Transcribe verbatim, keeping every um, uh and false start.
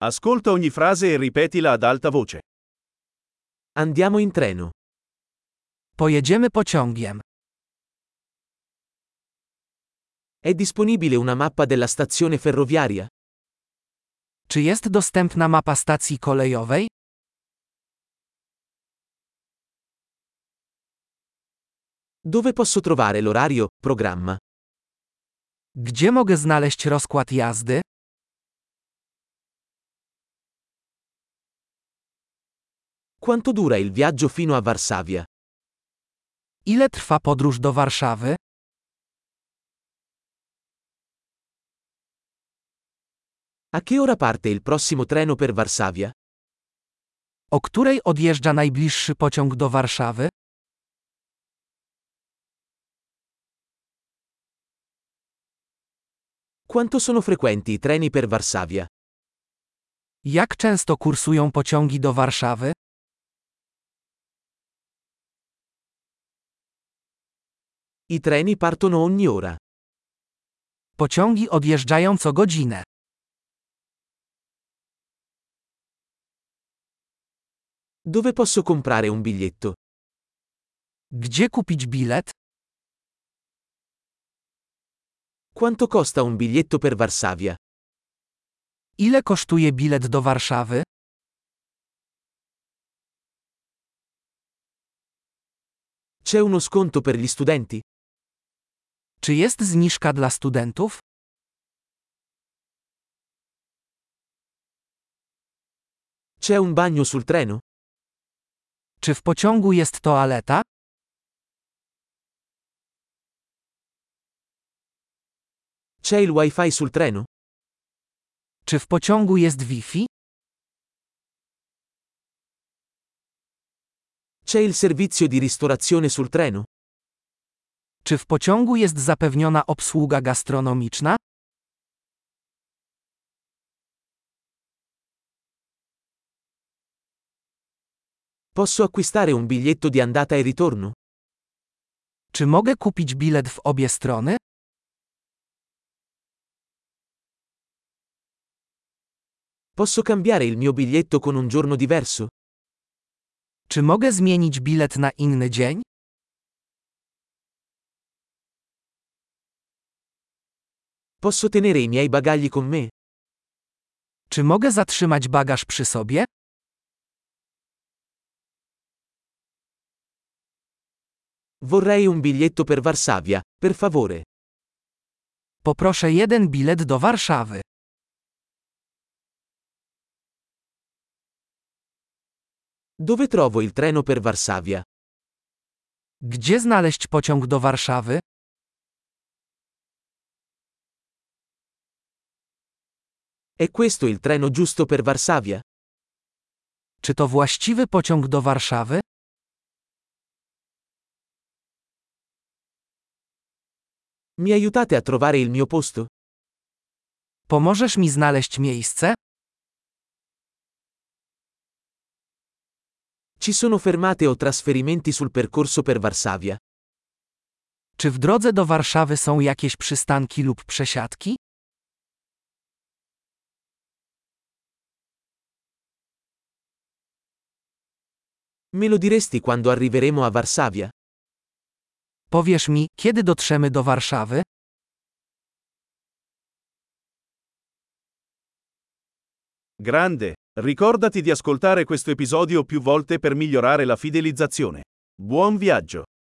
Ascolta ogni frase e ripetila ad alta voce. Andiamo in treno. Pojedziemy pociągiem. È disponibile una mappa della stazione ferroviaria? Czy jest dostępna mapa stacji kolejowej? Dove posso trovare l'orario, programma? Gdzie mogę znaleźć rozkład jazdy? Quanto dura il viaggio fino a Varsavia? Ile trwa podróż do Warszawy? A che ora parte il prossimo treno per Varsavia? O której odjeżdża najbliższy pociąg do Warszawy? Quanto sono frequenti i treni per Varsavia? Jak często kursują pociągi do Warszawy? I treni partono ogni ora. Pociągi odjeżdżają co godzinę. Dove posso comprare un biglietto? Gdzie kupić bilet? Quanto costa un biglietto per Varsavia? Ile kosztuje bilet do Warszawy? C'è uno sconto per gli studenti? Czy jest zniżka dla studentów? C'è un bagno sul treno? Czy w pociągu jest toaleta? C'è il wifi sul treno? Czy w pociągu jest Wi-Fi? C'è il servizio di ristorazione sul treno? Czy w pociągu jest zapewniona obsługa gastronomiczna? Posso acquistare un biglietto di andata e ritorno? Czy mogę kupić bilet w obie strony? Posso cambiare il mio biglietto con un giorno diverso? Czy mogę zmienić bilet na inny dzień? Posso tenere i miei bagagli con me? Czy mogę zatrzymać bagaż przy sobie? Vorrei un biglietto per Varsavia, per favore. Poproszę jeden bilet do Warszawy. Dove trovo il treno per Varsavia? Gdzie znaleźć pociąg do Warszawy? È questo il treno giusto per Varsavia? Czy to właściwy pociąg do Warszawy? Mi aiutate a trovare il mio posto? Pomożesz mi znaleźć miejsce? Ci sono fermate o trasferimenti sul percorso per Varsavia? Czy w drodze do Warszawy są jakieś przystanki lub przesiadki? Me lo diresti quando arriveremo a Varsavia? Powiesz mi, kiedy dotrzemy do Warszawy? Grande! Ricordati di ascoltare questo episodio più volte per migliorare la fidelizzazione. Buon viaggio!